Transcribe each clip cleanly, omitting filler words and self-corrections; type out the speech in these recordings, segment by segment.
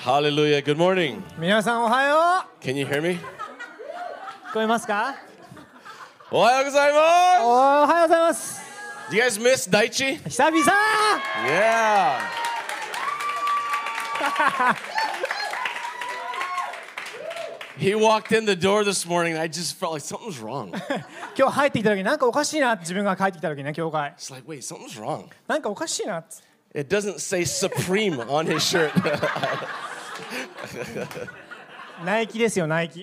Hallelujah. Good morning. 皆さんおはよう。 Can you hear me? 聞こえますか？ おはようございます。 おはようございます。 Do you guys miss Daichi? 久々。 Yeah. He walked in the door this morning and I just felt like something's wrong. 今日入ってきた時なんかおかしいなって自分が帰ってきた時ね、教会。 It's like, wait, something's wrong. なんかおかしいなって。 It doesn't say Supreme on his shirt. ナイキですよ、ナイキ。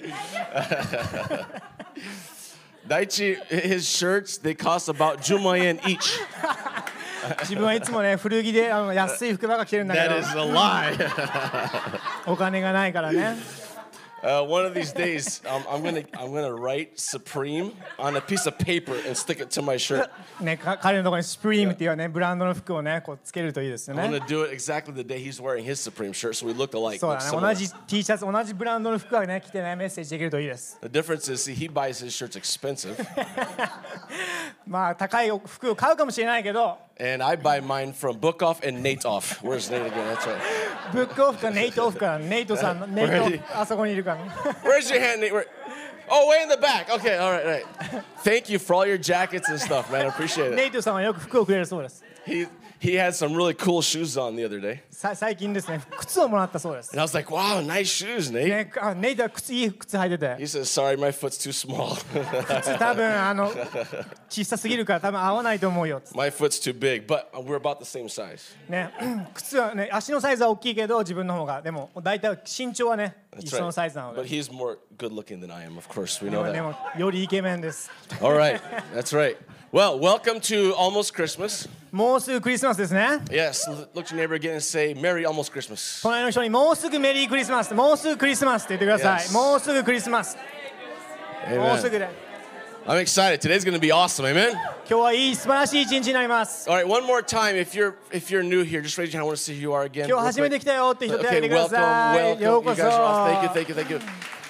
Daichi, his shirts, they cost about 10万円 each. 自分はいつもね、古着で安い服ばっか着てるんだけ That ど、 is a lie. お金がないからね。 One of these days, I'm gonna write Supreme on a piece of paper and stick it to my shirt. ね、彼のところにスプリームっていうね、ブランドの服をね、こうつけるといいですよ I'm ね。 gonna do it exactly the day he's wearing his Supreme shirt, so we look alike. そう Look だね、 similar. 同じ T シャツ、同じブランドの服がね、着てね、メッセージできるといいです。 The difference is, see, he buys his shirts expensive, まあ、高い服を買うかもしれないけど、 and I buy mine from Book Off and Nate Off. Where's Nate again? That's right. ブックオフかネイトオフか、ネイトさんの、ネイト、あそこにいるから。 Where's your hand, Nate? Oh, way in the back. Okay, all right, right. Thank you for all your jackets and stuff, man. I appreciate ネ it. イトさんはよく服をくれるそうです。 He had some really cool shoes on the other day, 最近ですね、靴をもらったそうです。 and I was like, "Wow, nice shoes, Nate." ね、ネイトは靴、いい靴履いてて、 He says, "Sorry, my foot's too small. 靴多分小さすぎるから多分合わないと思うよ。 My foot's too big." But we're about the same size. ね、靴はね、足のサイズは大きいけど自分の方が、でも大体身長はね、 That's 一緒のサイズなの But で。 he's more good-looking than I am, of course. We で know もで that. もよりイケメンです。 All right, that's right. Well, welcome to almost Christmas. もうすぐクリスマスですね。 Yes, look to your neighbor again and say, "Merry almost Christmas." 隣の人にもうすぐメリークリスマス、もうすぐクリスマスって言ってください。 Yes. もうすもうすぐクリスマス。もうすぐで。 I'm excited. Today's going to be awesome. Amen. 今日はいい素晴らしい一日になります。 All right, one more time. If you're new here, just raise your hand. I want to see who you are again. 今日 real 初めて quick. 来たよって人手を挙 Okay, げてくだ welcome, さい。 welcome. よう You こそ。 guys are awesome. Thank you, thank you,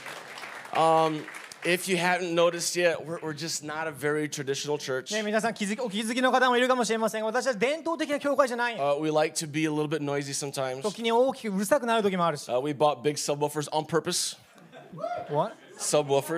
thank you. If you haven't noticed yet, we're just not a very traditional church. ね、皆さんお気づきの方もいるかもしれませんが、私は伝統的な教会じゃない。 We like to be a little bit noisy sometimes. 時に大きくうるさくなる時もあるし。 We bought big subwoofers on purpose. What? Subwoofers.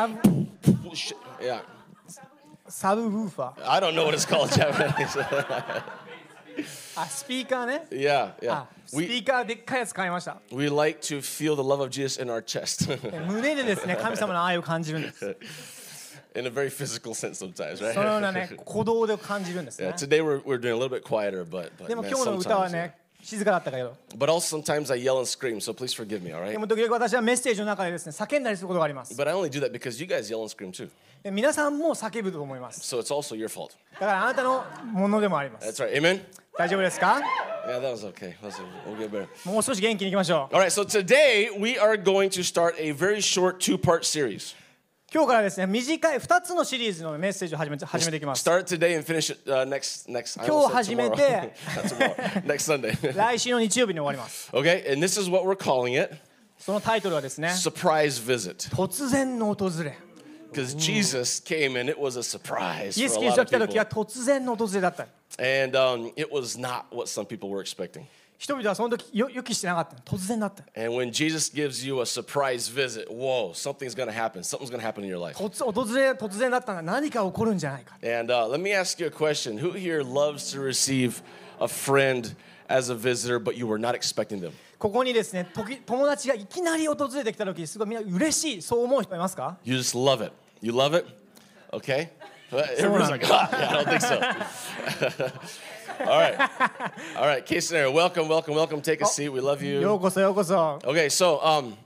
サブウーファー。 I don't know what it's called Japanese. あ、スピーカーね。 yeah, yeah. あ、スピーカーでっかいやつ買いました。 We like to feel the love of Jesus in our chest. 胸でですね、神様の愛を感じるんです。 In a very physical sense sometimes, そのよう right? なね、鼓動で感じるんですね Yeah,。today we're doing a little bit quieter, but でも man, 今日の歌は sometimes, ね、静かだったけど、 but also sometimes I yell and scream, so please forgive me, all で right? も時々私はメッセージの中でですね、叫んだりすることがあります。 But I only do that because you guys yell and scream too. で皆さんも叫ぶと思います。 So it's also your fault. だからあなたのものでもあります。 That's right. Amen? 大丈夫ですか？ Yeah, that was okay. We'll get better. もう少し元気にいきましょう。 All right, so today we are going to start a very short two-part series. 今日からですね、短い2つのシリーズのメッセージを始めていきます。 Start today and finish it next. I 今 almost 日 said 始め tomorrow. て Not tomorrow. Next Sunday. 来週の日曜日に終わります。 Okay, and this is what we're calling it: そのタイトルはですね、 surprise visit. 突然の訪れ。 Because Jesus came and it was a surprise イエ for ス・ a キリス lot トが of 来た時 people. は突然の訪れだった。 And it was not what some people were expecting. 人々はその時予期してなかった。突然だった。 And when Jesus gives you a surprise visit, whoa, something's going to happen. Something's going to happen in your life. 突然だったのが何か起こるんじゃないか。 And let me ask you a question. Who here loves to receive a friend as a visitor, but you were not expecting them? ここにですね、友達がいきなり訪れてきた時、すごいみんな嬉しい、そう思う人いますか？ You just love it. You love it? Okay? Everyone's like, yeah, I don't think so. All right. All right, case scenario. Welcome. Take a seat. We love よ you. うこそようこそ。 Okay, so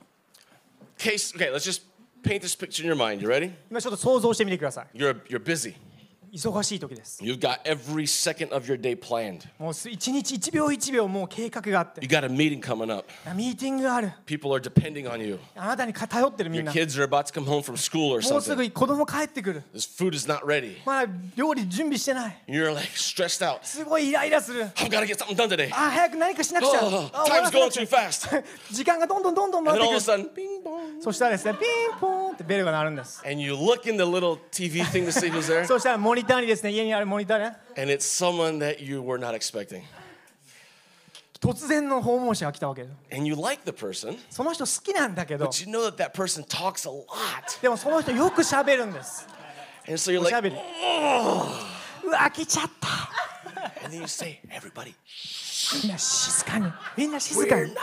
let's just paint this picture in your mind. You ready? 今ちょっと想像してみてください。 You're busy. 忙しい時です。 You've got every second of your day planned. もう一日一秒一秒もう計画があって You、got a meeting coming up. ミーティングがある。 People are depending on you. あなたに頼ってるみん Your な。 kids are about to come home from school or もうす something. ぐ子供帰ってくる。 This food is not ready. まだ料理準備してない。 You're like stressed out. すごいイライラする。 I've got to get something done today. あ、早く何かしなくちゃ。 Oh, あ time's 終わら going せな too くちゃ fast. 時間がどんどん And 回 then って all く of a る。 sudden, bing bong. そしたらですね、ピンポーンってベルが鳴るんです。 And you look in the little TV thing to see who's there. そしたらモニターにですね、家にあるモニターね、 And it's someone that you were not expecting. 突然の訪問者が来たわけです。 And you like the person, その人好きなんだけど、 but you know that that person talks a lot. でもその人よく喋るんです。 And so you're おしゃ like, べり。うわ、来ちゃった。 and then you say, everybody, みんな静かに。みんな静 we're かに。 not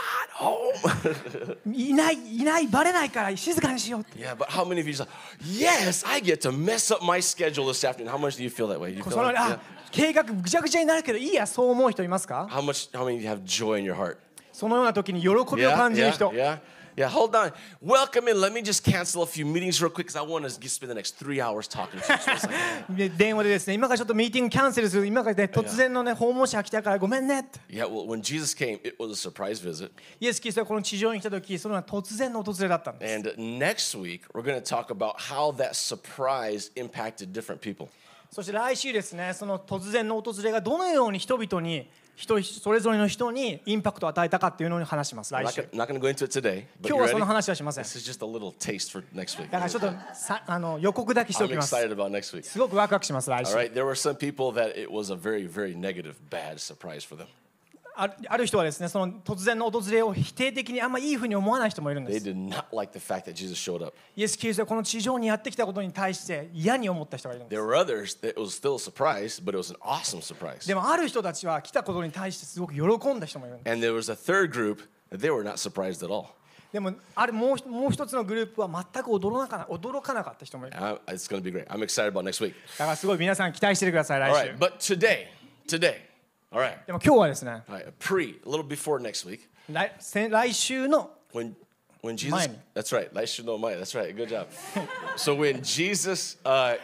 home. いない、バレないから静かにしようって。 Yeah, but how many of you say, yes, I get to mess up my schedule this afternoon? How much do you feel that way? You feel その like, あ、計画ぐちゃぐちゃになるけどいいや、そう思う人いますか？ how many of you have joy in your heart? そのような時に喜びを感じる人。 Yeah, hold on. Welcome in. Let me just cancel a few meetings real quick because I want to spend the next 3 hours talking to you. So it's like, で電話でですね、今からちょっとミーティングキャンセルする。今からね、突然のね、訪問者が来たからごめんねって。 yeah, well, when Jesus came, it was a surprise visit. イエス・キリストがこの地上に来た時、それは突然の訪れだったんです。 And next week, we're going to talk about how that surprise impacted different people. そして来週ですね、その突然の訪れがどのように人々にそれぞれの人にインパクトを与えたかっていうのに話します。 I'm 来週。 not going to go into it today, but 今 you 日はそ ready? の話はしません。 This is just a little taste for next week. だからちょっと予告だけしてお I'm きます。 excited about next week. すごくワクワクします。来 All 週。 right, there were some people that it was a very, very negative, bad surprise for them. ある人はですね、その突然の訪れを否定的にあんまいいふうに思わない人もいるんで They す。 did not like the fact that Jesus showed up. イエス・キリストがこの地上にやってきたことに対して嫌に思った人がいるんで There す。 were others that it was still a surprise, but it was an awesome surprise. でもある人たちは来たことに対してすごく喜んだ人もいるんです。 And there was a third group that they were not surprised at all. でももう一つのグループは全く驚かなかった人もいる。だ It's going to be great. I'm excited about next week. からすごい皆さん期待しててください。 All 来週。 right, but today, all right, でも今日はですね、 all right, a little before next week, 来週の when Jesus, Mine. that's right, 来週の前, that's right, good job. So when Jesus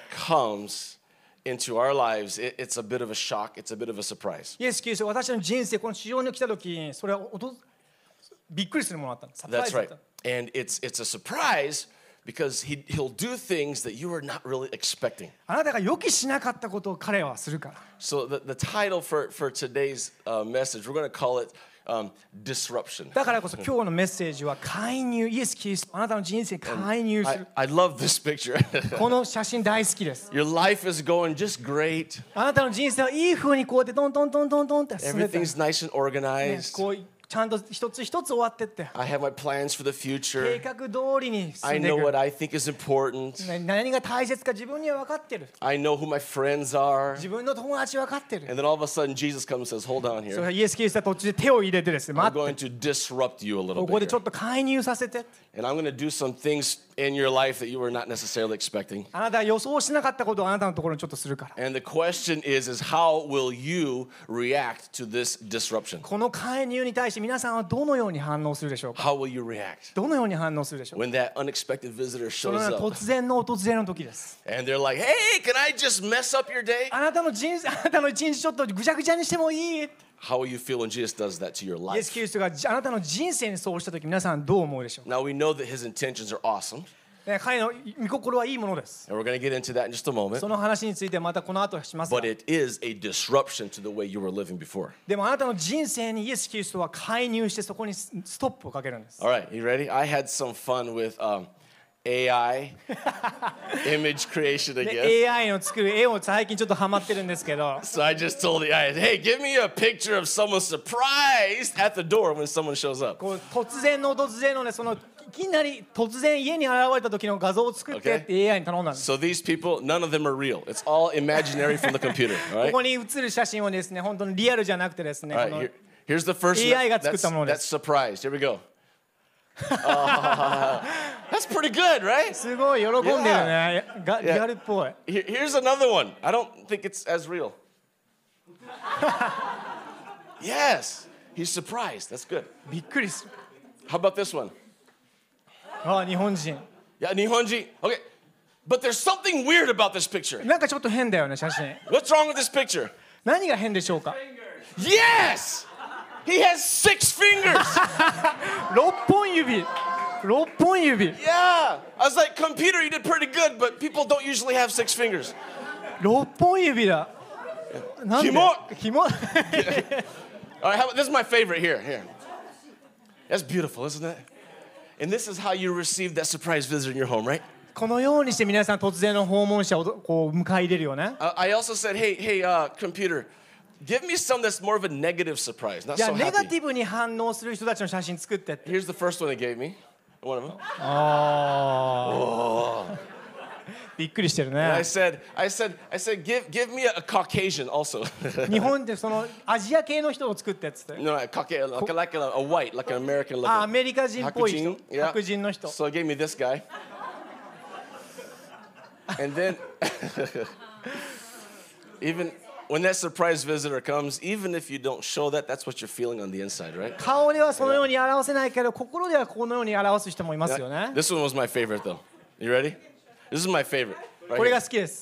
comes into our lives, it's a bit of a shock, it's a bit of a surprise. イエス・キリストが私の人生この地上に来た時、それはびっくりするものだったんです。サプライ That's ズだっ right. た。 And it's a surprise because he'll do things that you are not really expecting. あなたが予期しなかったことを彼はするから。 So the title for today's message, we're going to call it disruption. だからこそ今日のメッセージは介入、イエス・キリスト、あなたの人生に介入する。 I love this picture. この写真大好きです。 Your life is going just great. あなたの人生はいい風にこうやってトントントントントンって進めて、 Everything's nice and organized. こうちゃんと一つ一つ終わってって、 I have my plans for the 計 future. 画通りに進 I んでい know く。 what I think is important. 何が大切か自分には分かってる。 I know who my friends are. 自分の友達分かってる。 And then all of a sudden Jesus comes and says, hold on それ here. はイエス・キリストは途中で手を入れてですね、 I'm 待って、 going to disrupt you a little ここで bit ちょ here. っと介入させて。 And I'm going to do some things in your life that you were not necessarily expecting. あなたが予想しなかったことをあなたのところにちょっとするから。 And the question is how will you react to this disruption? この介入に対して皆さんはどのように反応するでしょうか。 How will you react どのように反応するでしょうか。 when that unexpected visitor その shows ような up 突然の訪れの時です。 and they're like, hey, can I just mess up your day? あなたの一日ちょっとぐちゃぐちゃにしてもいい。 How will you feel when Jesus does that to your イエス・ life? キリストがあなたの人生にそうした時、皆さんどう思うでしょうか。 Now we know that his intentions are awesome, 彼の御心はいいものです。 and we're going to get into that in just a moment. その話についてまたこの後しますが。 But it is a disruption to the way you were living before. でもあなたの人生にイエス・キリストは介入してそこにストップをかけるんです。 All right, you ready? I had some fun with AI image creation で again. AI の作る絵を最近ちょっとハマってるんですけど、 So I just told the AI, hey, give me a picture of someone surprised at the door when someone shows up. こう突然の訪れのね、そのいきなり突然家に現れた時の画像を作ってって AI に頼んだんです。 So these people, none of them are real. It's all imaginary from the computer. All こ right. こに写る写真をですね、本当にリアルじゃなくてですね、 All この right. Here's the first AI one. が作ったものです。 That's surprised. Here we go. That's pretty good, right? すごい喜んでるね。リアルっぽい。 Here's another one. I don't think it's as real. Yes, he's surprised. That's good. びっくりする。 How about this one? あ、日本人。 Yeah, Nihonji. Okay, but there's something weird about this picture. なんかちょっと変だよね、写真。 What's wrong with this picture? 何が変でしょうか。 Yes, he has 6 fingers. 6本指。6本指。 Yeah, I was like, computer, you did pretty good, but people don't usually have 6 fingers. 6本指だ。なんで？ひも。 All right, this is my favorite here. Here, that's beautiful, isn't it? And this is how you receive that surprise visitor in your home, right? このようにして皆さん突然の訪問者をこう迎え入れるよね。 I also said, hey, computer, Give me some that's more of a negative surprise, not じゃあ so ネガ happy. ティブに反応する人たちの写真作ってって。 Here's the first one they gave me. One of them. びっくりしてる And I ね。 said, give me a Caucasian also. 日本でそのアジア系の人を作ってっつって。 No, Caucasian, like a white, like an American あ、ア looking. メリカ人っぽい人。 Yeah. 白人の人。 So they gave me this guy. And then, even when that surprise visitor comes, even if you don't show that, that's what you're feeling on the inside, right? 顔ではそのように表せないけど、心ではこのように表す人もいますよね。 This one was my favorite, though. You ready? This is my favorite. Right これ here. が好きです。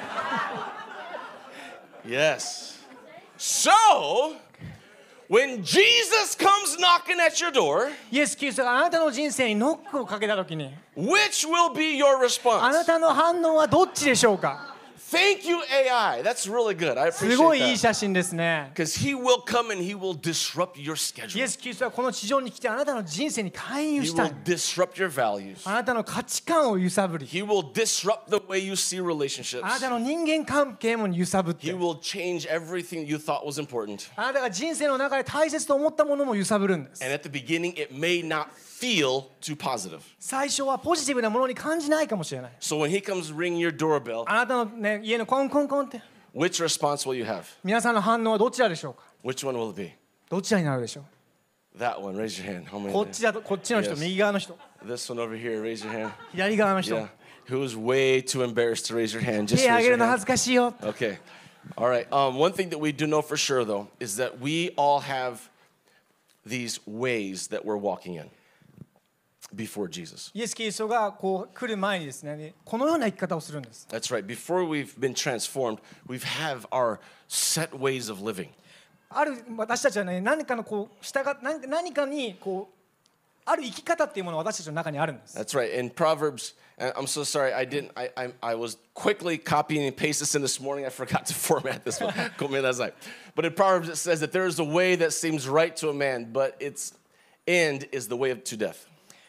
Yes. So, when Jesus comes knocking at your door, イエス・キリストがあなたの人生にノックをかけたときに、 which will be your あな response? たの反応はどっちでしょうか。 Thank you, AI. That's really good. I すごいい appreciate い that. 写真ですね。 Because he will come and he will disrupt your イ schedule. エス・キリストはこの地上に来てあなたの人生に介入 He したい will。disrupt your values. あなたの価値観を揺さぶり、 He will disrupt the way you see あな relationships. たの人間関係も揺さぶっ He て、 will change everything you thought was important. あなたが人生の中で大切と思ったものも揺さぶるんです。 And at the beginning, it may not feel too positive. 最初はポジティブなものに感じないかもしれない。 So when he comes ring your doorbell, あなたの、ね、家のコンコンコンって、 which response will you have? 皆さんの反応はどちらでしょうか。 Which one will it be? どちらになるでしょう。 That one. Raise your hand. How many? こっちだと、こっちの人、 Yes. 右側の人、 This one over here. Raise your hand. 左側の人、 Yeah. Who's way too embarrassed to raise your hand? Just 手挙 raise げ your るの hand. 恥ずかしいよ。 Okay. All right. One thing that we do know for sure, though, is that we all have these ways that we're walking in before Jesus. イエス・キリストがこう来る前にですね、このような生き方をするんです。 That's right. Before we've been transformed, we have our set ways of living. ある私たちはね、何かのこう従っ何かにこうある生き方っていうものが私たちの中にあるんです。 That's right. In Proverbs, and I'm so sorry, I was quickly copying and pasting this in this morning. I forgot to format this one. But in Proverbs, it says that there is a way that seems right to a man, but its end is the way to death.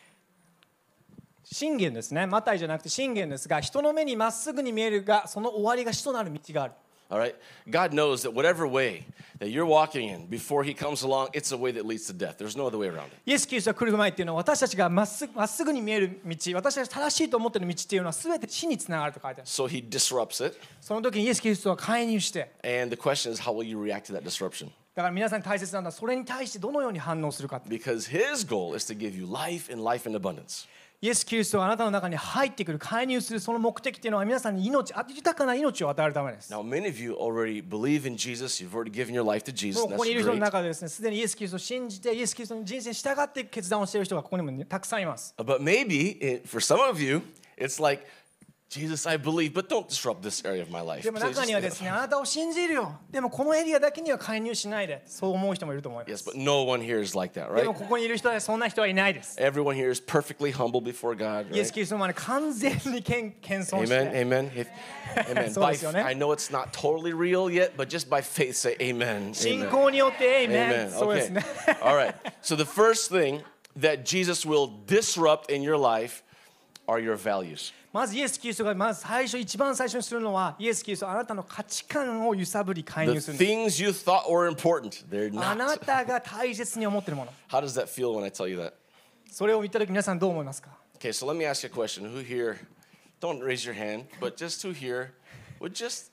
箴言ですね。マタイじゃなくて箴言ですが、人の目にまっすぐに見えるが、その終わりが死となる道がある。 All right? God knows that whatever way that you're walking in before he comes along, it's a way that leads to death. There's no other way around it. イエス・キリストが来る前っていうのは、私たちがまっすぐに見える道、私たちが正しいと思っている道っていうのは全て死につながると書いてある。 So he disrupts it. その時にイエス・キリストは介入して、 And the question is, how will you react to that disruption? だから皆さんに大切なのはそれに対してどのように反応するか。 Because his goal is to give you life and life in abundance. イエス・キリストがあなたの中に入ってくる、介入するその目的っていうのは皆さんに命、豊かな命を与えるためです。 Now, many of you already believe in Jesus. You've already given your life to も Jesus. う And ここにいる that's 人の great. 中でですね、すでにイエス・キリストを信じて、イエス・キリストの人生に従って決断をしている人がここにも、ね、たくさんいます。 But maybe for some of you, it's like, Jesus, I believe, but don't disrupt this area of my life. でも Please 中にはですね、あなたを信じるよ。でもこのエリアだけには介入しないで、そう思う人もいると思いま Yes, す。 but no one here is like that, で right? もここにいる人はそんな人はいないです。 Everyone here is perfectly humble before God, イエス・ right? キリストの前に完全に謙遜して。 Amen, amen. Amen. そうです By, よね。 I know it's not totally real yet, but just by faith say amen. 信 Amen. 仰によってエイメン。 Amen. そうです Okay. ね。 All right. So the first thing that Jesus will disrupt in your life are your values. まずイエス・キリストがまず一番最初にするのは、イエス・キリストはあなたの価値観を揺さぶり介 The 入するんです。 things you thought were important, they're あな not. たが大切に思っているもの。 How does that feel when I tell you that? それを見たとき皆さんどう思いますか。 Okay, so let me ask you a question. Who here, don't raise your hand, but just who here would just,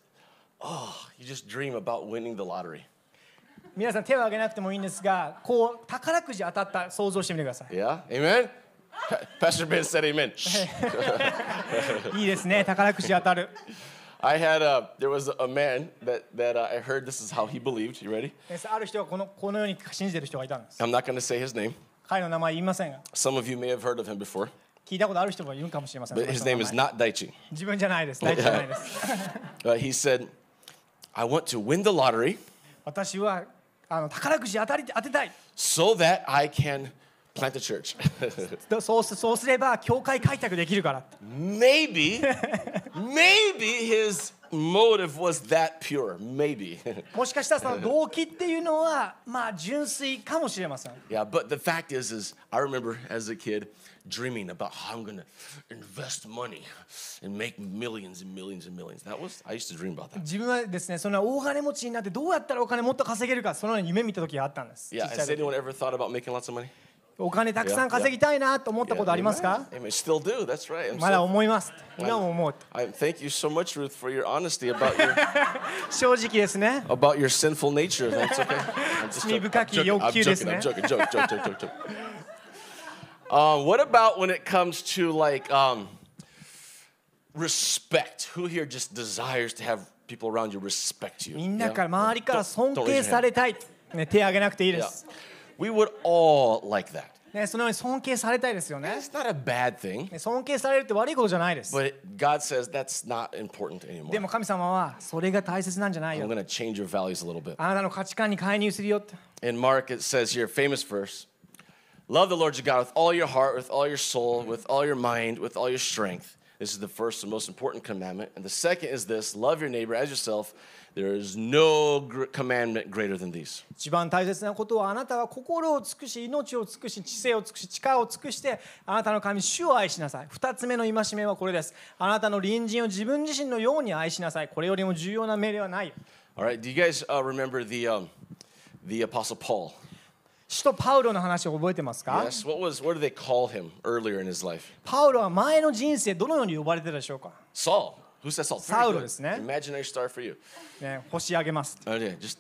you just dream about winning the lottery? 皆さん手を挙げなくてもいいんですが、こう宝くじ当たった想像してみてください。 Yeah? Amen? Pastor Ben said amen. いいですね、宝くじ当たる。 There was a man that I heard this is how he believed. You ready? ある人はこのように信じている人がいたんです。 I'm not going to say his name. 彼の名前言いませんが、 Some of you may have heard of him before, 聞いたことある人もいるかもしれません。 but his name is not Daichi. 自分じゃないです。大丈夫じゃないです。 He said, I want to win the lottery 私は宝くじ当てたい。 so that I can Plant a church. そうすれば教会開拓できるからって。 Maybe his motive was that pure. Maybe. もしかしたらその動機っていうのはまあ純粋かもしれません。 Yeah, but the fact is I remember as a kid dreaming about how I'm gonna invest money and make millions and millions and millions. I used to dream about that. 自分はですね、その大金持ちになってどうやったらお金もっと稼げるか、そのように夢見た時があったんです。 Yeah, has anyone ever thought about making lots of money? お金たくさん稼ぎたいなと思ったことありますか？ I still do. That's right. まだ思います。今も思う。 Thank you so much, Ruth, for your honesty about your 正直ですね。 about your sinful nature. That's okay. 罪深き欲求ですね。 I'm joking. What about when it comes to like respect? Who here just desires to have people around you respect you? みんなから周りから尊敬されたい。ね、手を挙げなくていいです。 We would all like that. ね、そのように尊敬されたいですよね。 It's not a bad thing. ね、尊敬されるって悪いことじゃないです。 But God says that's not important anymore. でも神様はそれが大切なんじゃないよ。 I'm going to change your values a little bit. あなたの価値観に介入するよって。 In Mark it says here, famous verse, love the Lord your God with all your heart, with all your soul, with all your mind, with all your strength. This is the first and most important commandment. And the second is this, love your neighbor as yourself. There is no commandment greater than these. 一番大切なことはあなたは心を尽くし、命を尽くし、知性を尽くし、力を尽くしてあなたの神主を愛しなさい。二つ目の戒めはこれです。あなたの隣人を自分自身のように愛しなさい。これよりも重要な命令はないよ。 All right, do you guys remember the Apostle Paul? 使徒パウロの話を覚えてますか？ Yes. What did they call him earlier in his life? パウロは前の人生どのように呼ばれてたでしょうか？ Saul. Who said Saul? サウロですね。 Imaginary star for you. ね、星あげます。 Oh yeah, just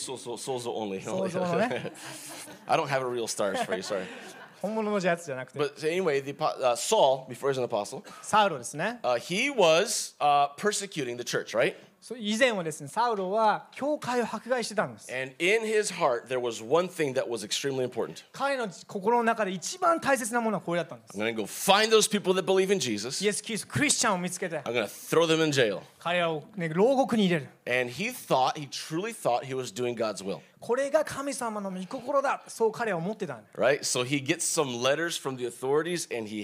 sozo only. 想像のね。 I don't have a real stars for you, sorry. 本物のやつじゃなくて。 But anyway, Saul, before he was an apostle, サウロですね。 he was persecuting the church, right? 以前はですね、サウロは教会を迫害してたんです。 And in his heart, there was one thing that was extremely important. 彼の心の中で一番大切なものはこれだったんです。 I'm going to go find those people that believe in Jesus. イエス・キリスト、クリスチャンを見つけて、 I'm going to throw them in jail. 彼らを、ね、牢獄に入れる。 And he truly thought he was doing God's will. これが神様の御心だ。そう彼は思ってたんです。 Right? So he gets some letters from the authorities and he's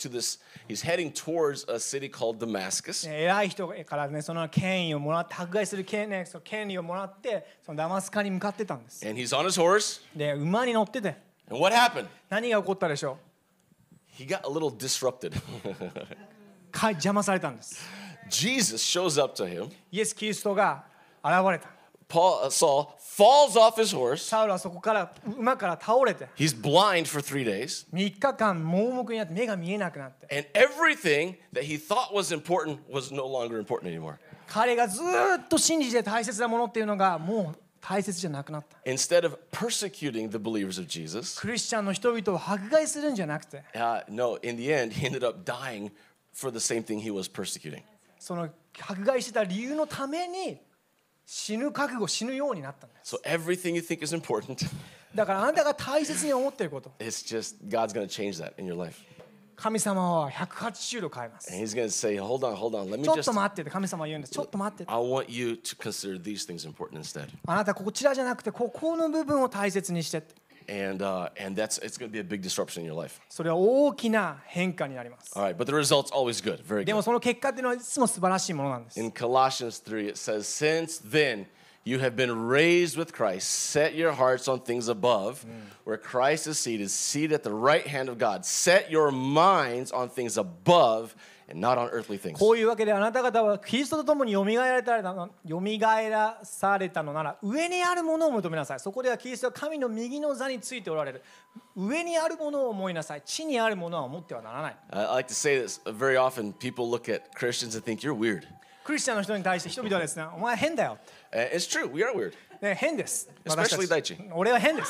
heading towards a city called Damascus. 偉い人からね、その権威をもらって、迫害する権利をもらって、そのダマスカに向かってたんです。 And he's on his horse. で、馬に乗ってて。 And what happened? 何が起こったでしょう He got a little disrupted. 邪魔されたんです。 Jesus shows up to him. イエス・キリストが現れた。 Saul falls off his horse. サウルはそこから馬から倒れて。 He's blind for 3 days. 3日間盲目になって目が見えなくなって。 And everything that he thought was important was no longer important anymore. 彼がずっと信じて大切なものっていうのがもう大切じゃなくなった。 Instead of persecuting the believers of Jesus, クリスチャンの人々を迫害するんじゃなくて、 no, in the end, he ended up dying for the same thing he was persecuting. その迫害してた理由のために死ぬようになったんです。 So everything you think is important, だからあなたが大切に思っていること、 it's just God's going to change that in your life. 神様は180度変えます。 And he's going to say, hold on, let me ちょっ just, と待ってって神様は言うんです。ちょっと待ってって。 I want you to consider these things important instead. あなたこちらじゃなくてここの部分を大切にしてって。 And it's going to be a big disruption in your life. それは大きな変化になります。 All right, but the result's always good, very でも good. その結果っていうのはいつも素晴らしいものなんです。 In Colossians 3, it says, since then you have been raised with Christ, set your hearts on things above, where Christ is seated at the right hand of God. Set your minds on things above and not on earthly things. こういうわけであなた方はキリストと共によみがえらされたのなら上にあるものを求めなさい。そこではキリストは神の右の座についておられる。上にあるものを思いなさい。地にあるものは思ってはならない。 I like to say this very often. People look at Christians and think you're weird. クリスチャンの人に対して人々はですね、お前変だよ。 It's true, we are weird. ね、変です。 Especially 大地。 俺は変です。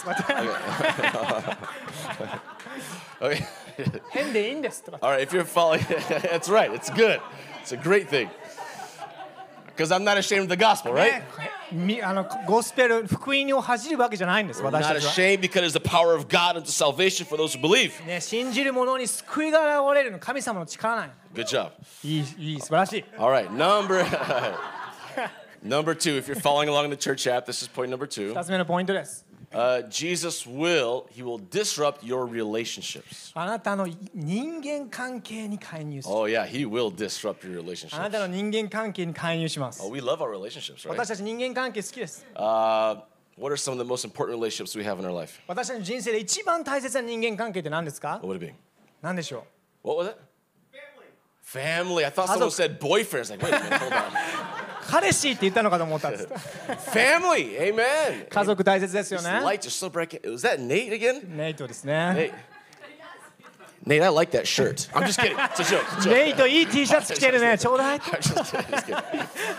Okay. 変でいいんですとか。 All right, if you're following, that's right. It's good. It's a great thing. Because I'm not ashamed of the gospel, right? ゴスペル、福音を恥じるわけじゃないんです。 We're 私 not たちは。 ashamed because it's the power of God unto salvation for those who believe. ね、信じる者に救いが現れるの神様の力なんや。 Good job. いい、素晴らしい。 All right, number two. If you're following along the church app, this is point number 2. 2つ目のポイントです。 Jesus he will disrupt your relationships. あなたの人間関係に介入する。 Oh yeah, he will disrupt your あな relationships. たの人間関係に介入します。 Oh, we love our relationships, right? 私たち人間関係好きです。 What are some of the most important relationships we have in our life? 私たちの人生で一番大切な人間関係って何ですか？ What would it be? 何でしょう？ What was it? Family. I thought someone said boyfriend. I was like, wait a minute, hold on. 彼氏って言ったのかと思ったんです。 Family. Amen. 家族大切ですよ These ね。 lights are so bright. Was that Nate again? ネイトですね。 Nate, I like that shirt. I'm just kidding. It's a joke. It's a joke. ネイトいい T シャツ着てるね。ちょうだい。 I'm just kidding. Just kidding.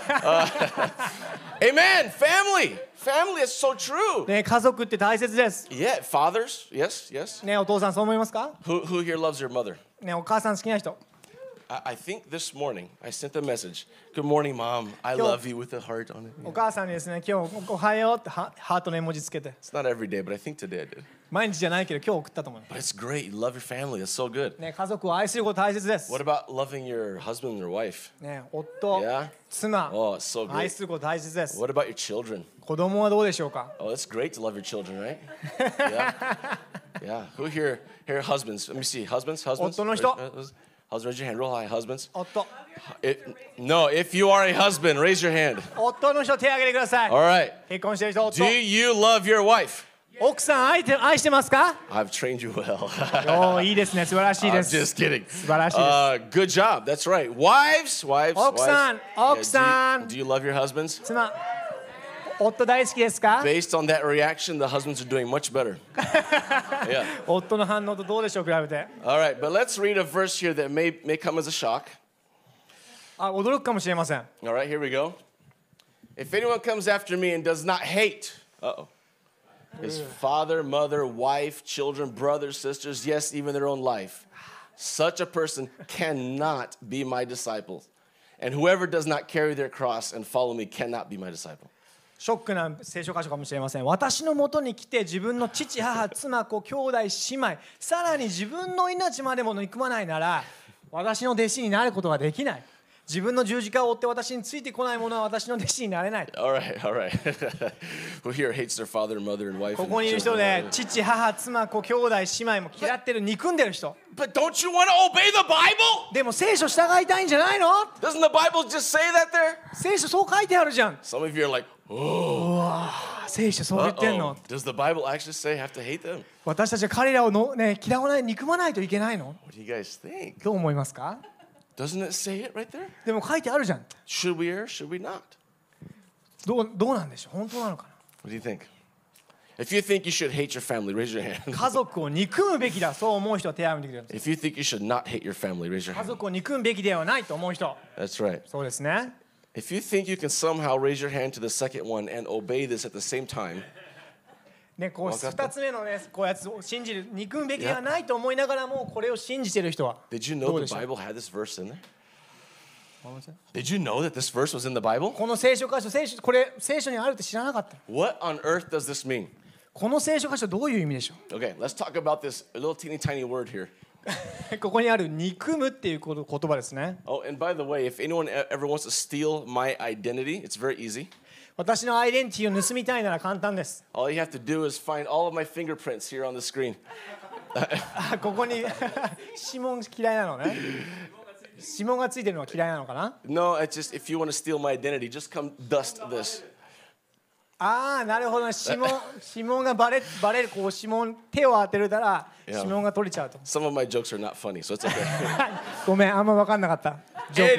Amen. Family. Family is so true. ね、家族って大切です。 Yeah, fathers. Yes, yes. ね、お父さんそう思いますか？ Who here loves your mother? ね、お母さん好きな人。 I think this morning I sent a message. Good morning, Mom. I love you with a heart on it. お母さんにですね、今日おはようってハートの絵文字つけて。 It's not every day, but I think today I did. 毎日じゃないけど今日送ったと思う。 But it's great. You love your family. That's so good. ね、家族を愛すること大切です。 What about loving your husband or wife? ね、夫、 Yeah? 妻、 Oh, it's so 愛 great. すること大切です。 What about your children? 子供はどうでしょうか？ Oh, it's great to love your children, right? Yeah. Yeah. Who here husbands? Let me see. Husbands? 夫の人。 Husbands, raise your hand. Real high. Husbands. 夫、 No, if you are a husband, raise your hand. 夫の人手を挙げてください。 All right. 結婚してる人、夫 Do。you love your wife? 奥さん愛してますか？ I've trained you well. おー、いいですね。素晴らしい I'm です。 just kidding. 素晴らしいです。 Good job. That's right. Wives. Oksan, Yeah, do you love your husbands? 妻、夫大好きですか？ Based on that reaction, the husbands are doing much better. Yeah. 夫の反応とどうでしょう比べて。 All right, but let's read a verse here that may come as a shock. あ、驚くかもしれません。 All right, here we go. If anyone comes after me and does not hate, his father, mother, wife, children, brothers, sisters, yes, even their own life, such a person cannot be my disciple. And whoever does not carry their cross and follow me cannot be my disciple. ショックな聖書箇所かもしれません。私のもとに来て自分の父、母、妻、子、兄弟、姉妹、さらに自分の命までも憎まないなら、私の弟子になることができない。自分の十字架を追って私についてこない者は私の弟子になれない。 All right. Who here hates their father, mother, and wife? こ and こにいる人 children? で父、母、妻、子、兄弟、姉妹も嫌ってる、憎んでる人。 But don't you want to obey the Bible? でも聖書従いたいんじゃないの？ Doesn't the Bible just say that there? 聖書そう書いてあるじゃん。 Some of you are like, 聖書そう言ってんの。 Does the Bible actually say have to hate them? 私たちは彼らをの、ね、嫌わない、憎まないといけないの？ What do you guys think? どう思いますか？ Doesn't it say it right there? でも書いてあるじゃん。 Should we or should we not? どうなんでしょう？本当なのか What do you think? If you think you should hate your family, raise your hand. な？家族を憎むべきだ、そう思う人は手を挙げてくれるんです。 If you think you should not hate your family, raise your 家 hand. 族を憎むべきではないと思う人。 That's right. そうですね。 If you think you can somehow raise your hand to the second one and obey this at the same time, ね、こうわかった 2つ目のね、こうやつを信じる、憎むべきではないと思いながらも、これを信じている人は。 did you ど know うで the しょう？ Bible had this verse in there? Did you know that this verse was in the Bible? この聖書箇所、これ聖書にあるって知らなかった。 What on earth does this mean? この聖書箇所どういう意味でしょ Okay, let's talk about this little teeny tiny word here. う？ここにある憎むっていう言葉ですね。 Oh, and by the way, if anyone ever wants to steal my identity, it's very easy. 私のアイデンティティを盗みたいなら簡単です。 All you have to do is find all of my fingerprints here on the screen. あ、ここに指紋嫌いなのね。指紋がついてるのは嫌いなのかな？ No, it's just if you want to steal my identity, just come dust this. ああ、なるほど。指紋がバレる、こう指紋、手を当てるたら指紋が取れちゃうと。 Some of my jokes are not funny, so it's okay. ごめん、あんま分かんなかった。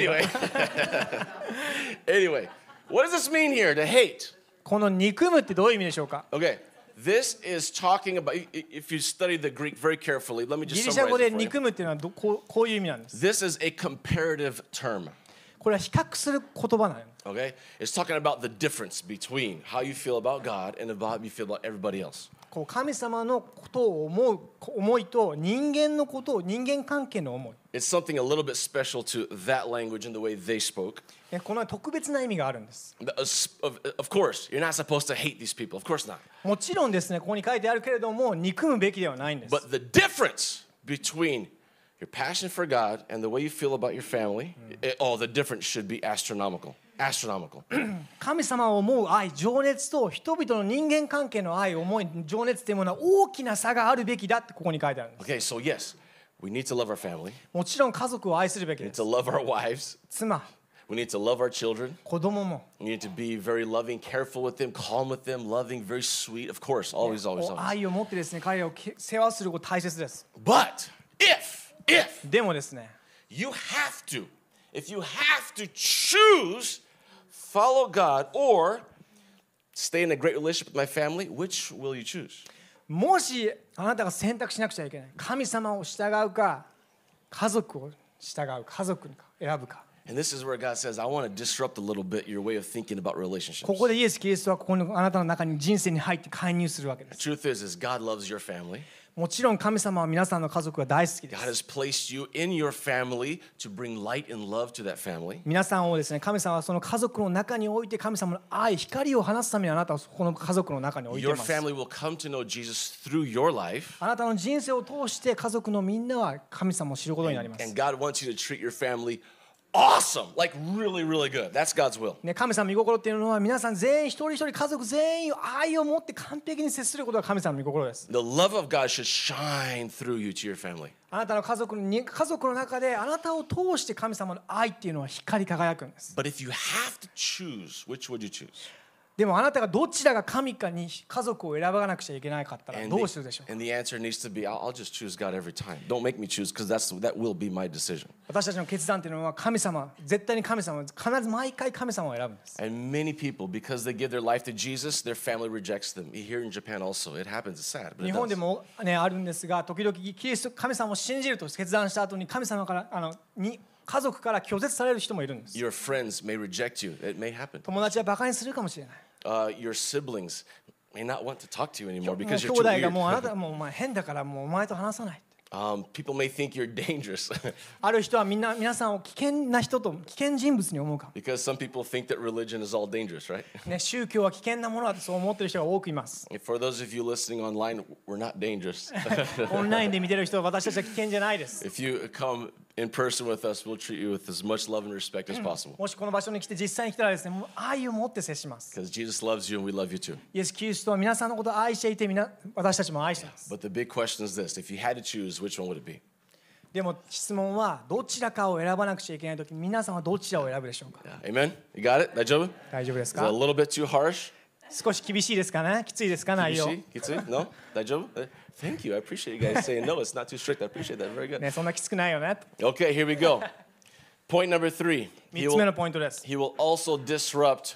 Anyway, what does this mean here, to hate? この憎むってどういう意味でしょうか？ Okay, this is talking about, if you study the Greek very carefully, let me ギ just リシャ語 summarize で it for you. 憎むっていうのはこういう意味なんです。 This is a comparative term. これは比較する言葉なの。 Okay, it's talking about the difference between how you feel about God and about how you feel about everybody else. こう神様のことを思いと人間のことを人間関係の思い。 It's something a little bit special to that language and the way they spoke. この特別な意味があるんです。 Of course, you're not supposed to hate these people. Of course not. もちろんですね、ここに書いてあるけれども憎むべきではないんです。 But the difference between Your passion for God and the way you feel about your family, the difference should be astronomical. Astronomical. 神様を思う愛、情熱と人々の人間関係の愛、思い、情熱というものは大きな差があるべきだってここに書いてあるんです。 Okay, so yes, we need to love our family. もちろん家族を愛するべき We で need す。 to love our wives. 妻、 We need to love our children. 子供も We need to be very loving, careful with them, calm with them, loving, very sweet. Of course, always, always, こう always. 愛を持ってですね、彼らを世話すること大切です。 But if でもですね、 if you have to choose follow God or stay in a great relationship with my family, which will you choose? もしあなたが選択しなくちゃいけない、神様を従うか、家族を従う、家族に選ぶか。 And this is where God says, I want to disrupt a little bit your way of thinking about relationships. ここでイエス・キリストはここのあなたの中に人生に入って介入するわけで The す。 truth is God loves your family. もちろん神様は皆さんの家族が大好きで God す。 has placed you in your family to bring light and love to that family. 皆さんをですね、神様はその家族の中において神様の愛、光を放つためにあなたをこの家族の中に置いてい Your ます。 family will come to know Jesus through your life. あなたの人生を通して家族のみんなは神様を知ることになります。 And God wants you to treat your family awesome, like really, really good. That's God's will. ね、神様の御心っていうのは皆さん全員一人一人家族全員を愛を持って完璧に接することが神様の御心です。 The love of God should shine through you to your family. あなたの家族の中であなたを通して神様の愛っていうのは光り輝くんです。 But if you have to choose, which would you choose? でもあなたがどちらが神かに家族を選ばなくちゃいけないかったら And どうするでしょうか。 the answer needs to be, I'll just choose God every time. Don't make me choose because that will be my decision. 私たちの決断っていうのは神様、絶対に神様、必ず毎回神様を選ぶんです。 And many people, because they give their life to Jesus, their family rejects them. Here in Japan also, it happens. It's sad, but 日 it 本で does. も、ね、あるんですが、時々キリスト神様を信じると決断した後に神様から家族から拒絶される人もいるんです。 Your friends may reject you. It may happen. 友達はバカにするかもしれない。 Your siblings may not want to talk to you も anymore う because 兄 you're 弟 too がもうあな weird. たもうお前変だからもうお前と話さない。 People may think you're dangerous ある人は皆さんを危険な人と危険人物に思うかも。 because some people think that religion is all dangerous, right? ね、宗教は危険なものだとそう思っている人が多くいます。 For those of you listening online, we're not dangerous. オンラインで見てる人は私たちは危険じゃないです。 If you come in person with us, we'll treat you with as much love and respect as possible もしこの場所に来て実際に来たらですね、もう愛を持って接します。 because Jesus loves you and we love you too. イエス・キリストは皆さんのことを愛していて私たちも愛しています。 But the big question is this: if you had to choose, which one would it be? でも質問はどちらかを選ばなくちゃいけないとき皆さんはどちらを選ぶでしょうか。 Yeah. Amen? You got it? 大丈夫? 大丈夫です Is it a か。 little bit too harsh? 少し厳しいですかね。きついですか内容。 Kitsui? No? 大丈夫? Thank you. I appreciate you guys saying no. It's not too strict. I appreciate that. Very good. ね、そんなきつくないよね。 Okay, here we go. Point number 3. 3つ目のポイントです。 He will also disrupt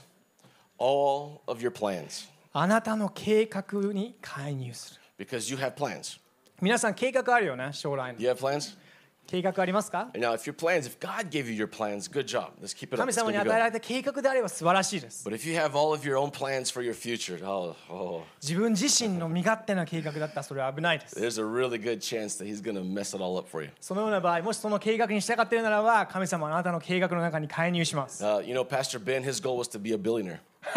all of your plans あなたの計画に介入する。 because you have plans. 皆さん計画あるよね、将来の。 You have plans? 計画ありますか。 Now, if your plans, if God gave you your plans, good job. Let's keep it up. 神 Let's 様 keep に it 与えら going. れた計画であれば素晴らしいです。 But if you have all of your own plans for your future, oh, 自分自身の身勝手な計画だったらそれは危ないです。 there's a really good chance that He's going to mess it all up for you. そのような場合、もしその計画に従っているならば、神様はあなたの計画の中に介入します。 You know, Pastor Ben, his goal was to be a billionaire.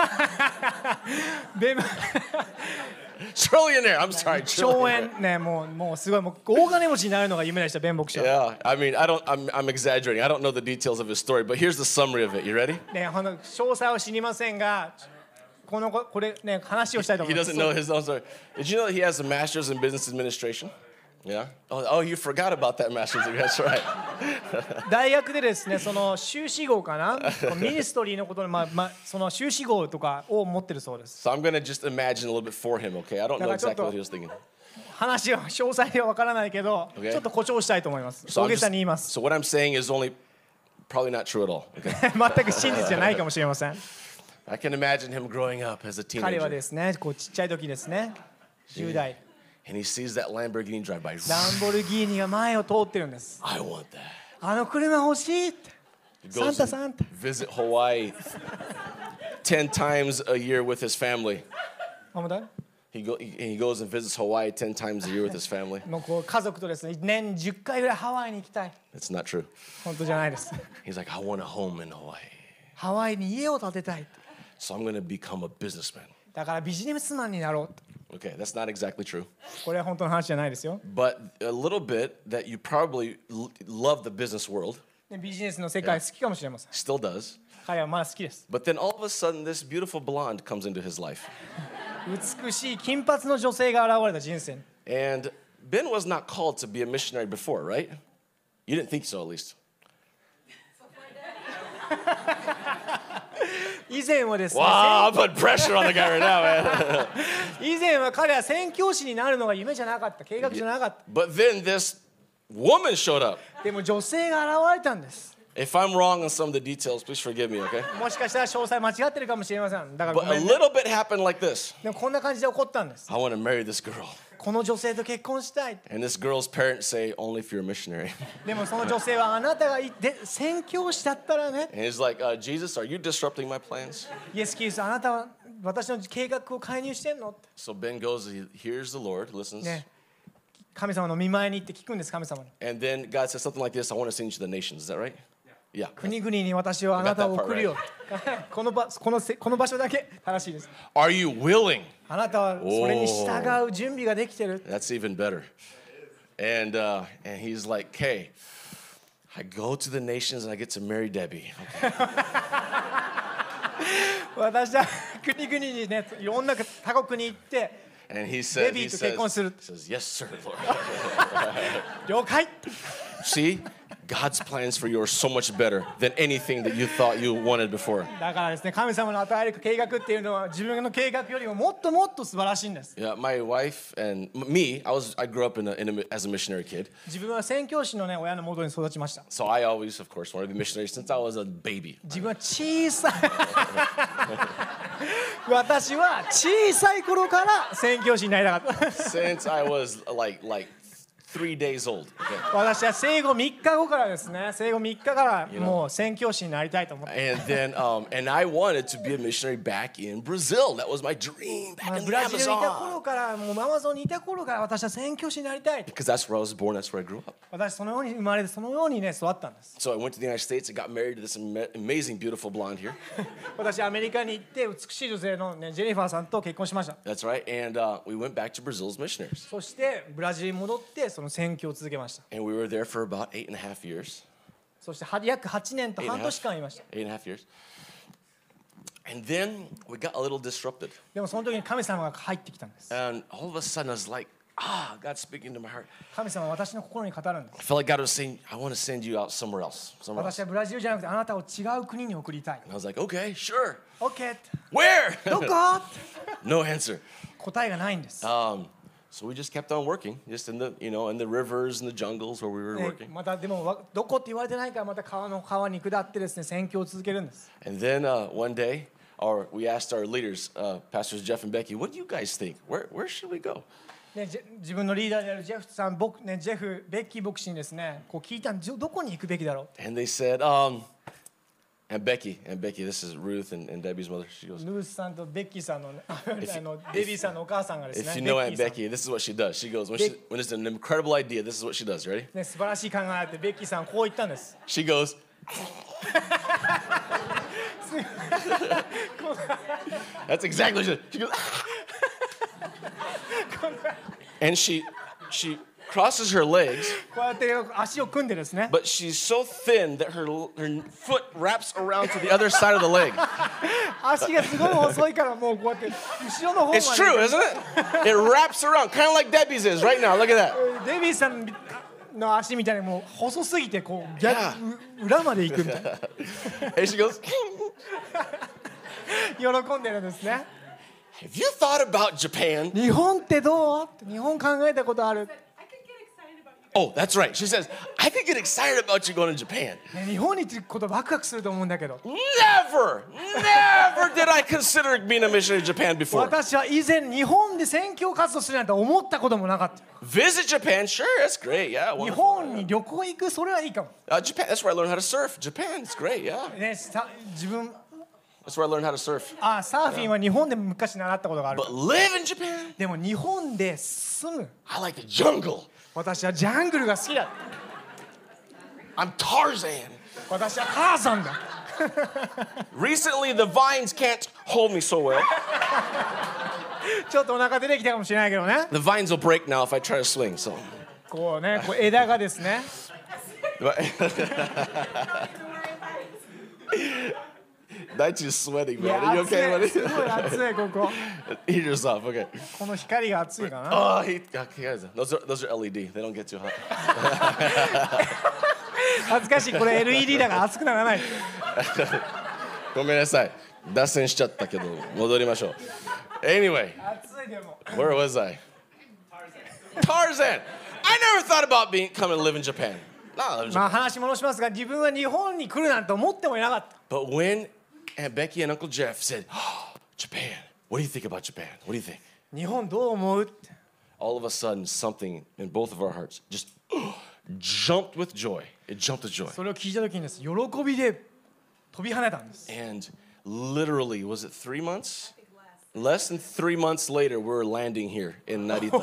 で Trillionaire. I'm sorry. 荘 Trillionaire. 園ね、もうすごいもう大金持ちになるのが夢でした、弁牧師は。 Yeah, I mean, I'm exaggerating. I don't know the details of his story, but here's the summary of it. You ready? ね、詳細は知りませんが、これね話をしたいと思 He います。 doesn't know his own story. Did you know that he has a master's in business administration? Yeah. Oh, you forgot about that master's degree. That's right. 大学でですね、その修士号かな、ミニストリーのことのその修士号とかを持ってるそうです。 So I'm gonna just imagine a little bit for him. Okay, I don't know exactly what he was thinking. 話は詳細ではわからないけど、 Okay. ちょっと誇張したいと思います。 So, 大げさに言います。 so what I'm saying is only probably not true at all. Okay. 全く真実じゃないかもしれません。 I can imagine him growing up as a 彼は teenager, ですね、こうちっちゃい時ですね、10代、 and he sees that Lamborghini drive by. ランボルギーニが前を通ってるんです。 I want that. あの車欲しいって。 He サン goes タ and サンタ。 visit Hawaii 10 times a year with his family. あ、もうだ He goes and visits Hawaii 10 times a year with his family. もうこう家族とですね、年10回ぐらいハワイに行きたい。 That's not true. 本当じゃないです。 He's like, I want a home in Hawaii. ハワイに家を建てたい。 So I'm going to become a businessman. だからビジネスマンになろうと。 Okay, that's not exactly true. これは本当の話じゃないですよ。 But a little bit that you probably love the business world, ビジネスの世界好きかもしれません。 still does. 彼はまだ好きです。 But then all of a sudden, this beautiful blonde comes into his life. 美しい金髪の女性が現れた人生に。 And Ben was not called to be a missionary before, right? You didn't think so, at least. 以前はですね、 Wow, I'm putting pressure on the guy right now, man. 以前は彼は宣教師になるのが夢じゃなかった、計画じゃなかった。 But then this woman showed up. でも女性が現れたんです。 If I'm wrong on some of the details, please forgive me, okay? もしかしたら詳細間違ってるかもしれません。だからご But め a んね。 little bit happened like this. でもこんな感じで起こったんです。 I want to marry this girl. この女性と結婚したい。 And this girl's parents say, only if you're a missionary. でもその女性はあなたが宣教師だったらね。 And he's like, Jesus, are you disrupting my plans? イエス・キリスト、あなたは私の計画を介入してんのって。 So Ben goes, he hears the Lord, listens. ね。神様の見舞いに行って聞くんです、神様に。 And then God says something like this, I want to send you to the nations. Is that right? Yeah. 国々に私はあなたを送るよ。この場所だけ正しいです。 Are you willing? あなたはそれに従う準備ができてる。 That's even better. And he's like, okay, I go to the nations and I get to marry Debbie. 私は国々にね、いろんな他国に行って、 And he says, Debbieと結婚する。 yes, sir, Lord. 了解。 See, God's plans for you are so much better than anything that you thought you wanted before. だからですね、神様の与える計画っていうのは自分の計画よりももっともっと素晴らしいんです。 Yeah, my wife and me, I grew up as a missionary kid. 自分は宣教師のね、親の元に育ちました。 So I always, of course, wanted to be a missionary since I was a baby. 自分は小さい私は小さい頃から宣教師になりたかった。 Since I was like 3 days old. Okay. 私は生後3日後からですね、生後3日からもう宣教師になりたいと思って。 And then, and I wanted to be a missionary back in Brazil. That was my dream back in ブ the ラジルにいた Amazon. 頃からもうアマゾンにいた頃から私は宣教師になりたい。 Because that's where I was born. That's where I grew up. 私そのように生まれてそのようにね育ったんです。 So I went to the United States and got married to this amazing, beautiful blonde here. 私アメリカに行って美しい女性のねジェニファーさんと結婚しました。 That's right. And we went back to Brazil as missionaries. そしてブラジルに戻ってその宣教を続けました。 And we were there for about 8.5 years. そして約8年と半年間いました。 8.5 years. And then we got a little disrupted. でもその時に神様が入ってきたんです。 And all of a sudden I was like, God's speaking to my heart. 神様は私の心に語るんで I す。 felt like God was saying, I want to send you out somewhere else. 私はブラジルじゃなくてあなたを違う国に送りたい。 And I was like, okay, sure. OK。 Where? どこ No answer. 答えがないんです。 So we just kept on working, just in the rivers and the jungles where we were ね working. またでもどこって言われてないからまた川に下ってですね宣教を続けるんです。 And then one day, we asked our leaders, Pastors Jeff and Becky, what do you guys think? Where should we go? ね、自分のリーダーであるジェフさん、ジェフ、ベッキー牧師にですね、こう聞いたんです。どこに行くべきだろう。 And they said, and Becky, this is Ruth and Debbie's mother. She goes, ルースさんとベッキーさんのデビーさんのお母さんがですね、 if you know ベッ Aunt キーさん Becky, this is what she does. She goes, when it's an incredible idea, this is what she does. Ready? ね、素晴らしい考えがあって、ベッキーさんはこう言ったんです。 She goes, that's exactly what she goes, and she crosses her legs, こうやって足を組んでですね、 but she's so thin that her foot wraps around to the other side of the leg. 足がすごい細いからもうこうやって後ろの方まで。 It's true, isn't it? It wraps around, kind of like Debbie's is right now. Look at that. デビーさんの足みたいにもう細すぎてこう裏まで行くみたいな。 And she goes, 喜んでるんですね。 have you thought about Japan? 日本ってどう？日本考えたことある？ Oh, that's right. She says, I could get excited about you going to Japan. ね、日本に行くことワクワクすると思うんだけど。 Never did I consider being a missionary in Japan before. 私は以前日本で宣教活動するなんて思ったこともなかった。 Visit Japan, sure, that's great, yeah. 日 Wonderful. 本に旅行行くそれはいいかも。 Japan, that's where I learned how to surf. Japan, it's great, yeah. ね、自分 That's where I learned how to surf. サーフィンは日本で昔習ったことがある。 But live in Japan? でも日本で住む。 I like the jungle. 私はジャングルが好きだ。 I'm Tarzan. 私はターザンだ。 Recently, the vines can't hold me so well. ちょっとお腹出てきたかもしれないけどね。 The vines will break now if I try to swing. So, こうね、こう枝がですね。 Daichi's sweating, い man. や Are you 暑 okay, い、 buddy? すごい暑いここ。 Heater's off. Okay. この光が暑いかな。 Oh, guys, those are LED. They don't get too hot. 恥ずかしい、これ LED だから熱くならない。 ごめんなさい。脱線しちゃったけど戻りましょう。Anyway, 暑いでも。 where was I? Tarzan. I never thought about coming to live in Japan. Not live in まあ Japan. 話戻しますが、自分は日本に来るなんて思ってもいなかった。 But when Aunt Becky and Uncle Jeff said, oh, Japan, what do you think about Japan? What do you think? 日本どう思うって。 All of a sudden, something in both of our hearts just jumped with joy. It jumped with joy. それを聞いた時にです、喜びで飛び跳ねたんです。 And literally, was it 3 months? Less than 3 months later, we were landing here in Narita.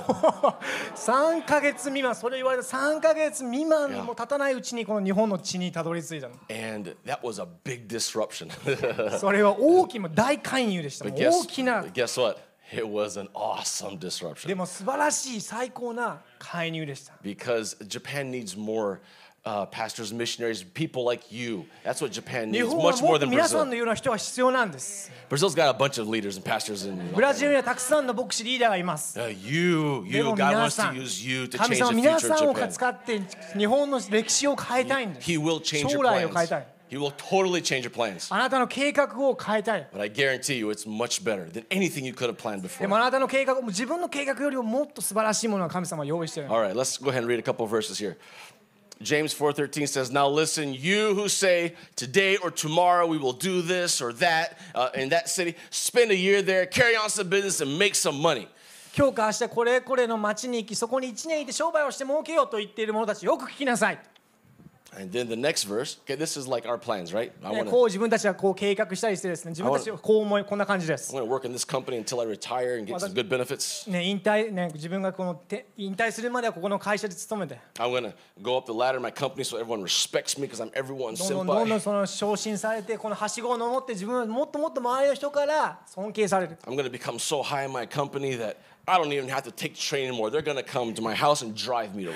3ヶ月未満、それ言われた3ヶ月未満も経たないうちにこの日本の地にたどり着いたの。 And that was a big disruption. それは大きな大介入でした。 But 大きな。 guess what? It was an awesome で disruption も素晴らしい最高な介入でした。 because Japan needs more pastors, missionaries, people like you. That's what Japan 日 needs, 本は much も more っと than 皆さん Brazil. のような人が必要なんです。 Brazil's got a bunch of leaders and pastors and ブラジルにはたくさんの牧師リーダーがいます。 you, でも God 皆 wants さ to ん、 use you to 神 change 様 the 皆 future さん of を Japan. 使って日本の歴史を変えたいんです。 He will change 将 your 来を変えた plans. い。 He will totally change your plans. あなたの計画を変えたい。 But I guarantee you it's much better than anything you could have planned で before. もあなたの計画、自分の計画よりももっと素晴らしいものを神様は用意している。 All right, let's go ahead and read a couple of verses here. James 4:13 says, "Now listen, you who say today or tomorrow we will do this or that in that city, spend a year there, carry on some business and make some money." 今日か明日これこれの町に行き、そこに1年いて商売をして儲けようと言っている者たち、よく聞きなさい。 And then the next verse, okay, this is like our plans, right? I ね want こ to う自分たちはこう計画したりしてですね、自分たちはこう思い、こんな感じです。 work in this company until I retire and get some good benefits. ね、引退、ね、自分がこの引退するまではここの会社で勤めて、 I'm going to go up the ladder in my company so everyone respects me because I'm everyone's どんどん senpai. その昇進されて、このはしごを登って自分はもっともっと周りの人から尊敬される。 I'm going to become so high in my company that I don't even have to take the train anymore. They're going to come to my house and drive me to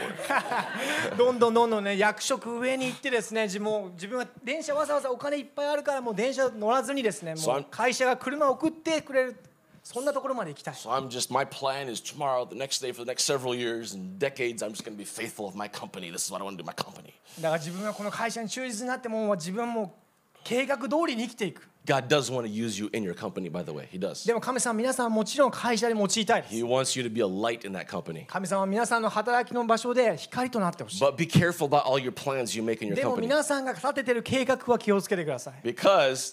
work. どんどんね、役職上に行ってですね、自分は電車わざわざお金いっぱいあるからもう電車乗らずにですね、もう会社が車を送ってくれる、そんなところまで行きたい。 So my plan is tomorrow, the next day, for the next several years and decades, I'm just going to be faithful with my company. This is what I want to do, my company. だから自分はこの会社に忠実になってもう自分はもう計画通りに生きていく。 God does want to use you in your company, by the way. He does. でも神様は皆さんはもちろん会社で用いたいです。 He wants you to be a light in that company. 神様は皆さんの働きの場所で光となってほしい。 But be careful about all your plans you make in your でも company. 皆さんが立ててる計画は気をつけてください。 Because,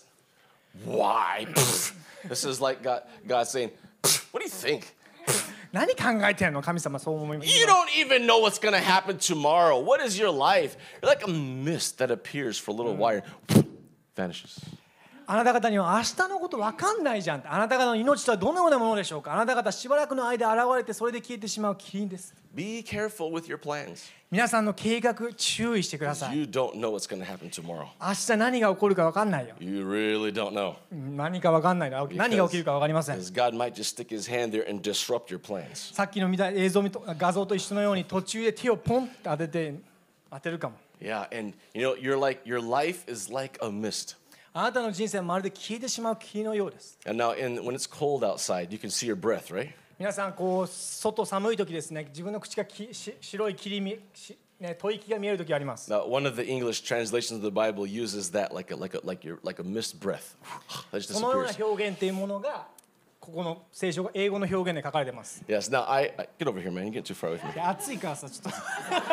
why? This is like God saying, what do you think? 何考えてんの神様そう思います。 You don't even know what's going to happen tomorrow. What is your life? You're like a mist that appears for a little while, vanishes. あなた方には明日のこと分かんないじゃん。あなた方の命とはどのようなものでしょうか。あなた方しばらくの間現れてそれで消えてしまうキリンです。 Be careful with your plans. 皆さんの計画注意してください。 You don't know what's going to happen tomorrow. 明日何が起こるか分かんないよ。 You really don't know. 何か分かんないな。何が起きるか分かりません。 Because God might just stick his hand there and disrupt your plans. さっきの見た映像画像と一緒のように途中で手をポンって当てるかも。 Yeah, and your life is like a mist. あなたの人生はまるで消えてしまう霧のようです。 And now when it's cold outside, you can see your breath, right? 皆さんこう外寒い時ですね、自分の口が白い霧ね、吐息が見える時あります。 Now, one of the English translations of the Bible uses that like a mist breath. That just そのような disappears. 表現っていうものがここの聖書が英語の表現で書かれています。 Yes. Now I get over here, man. You get too far with me. いや暑いからさちょっと